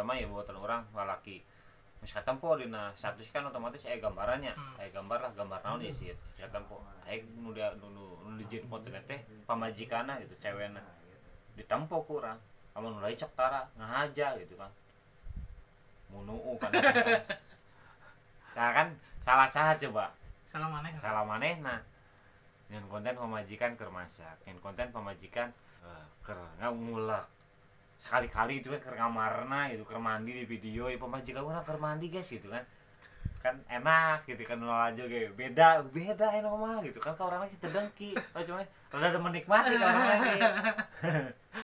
mah ya buatan orang lalaki misalkan po dina status kan otomatis gambarannya gambar lah gambar naon ya sih misalkan po nu dijieun foto teh pamajikana gitu cewekna ditempo kurang amun mulai cok tara ngahaja gitu kan munuu kan nah kan salah coba salah manehna nyen konten pamajikan keur masak nyen konten pamajikan keur ngulek sekali-kali itu kan keur ngamarna gitu keur mandi di video ya pamajikan urang keur mandi guys gitu kan kan enak gitu kan nol aja ge beda enak mah gitu kan ka urang kita dengki cuma rada menikmati ka urang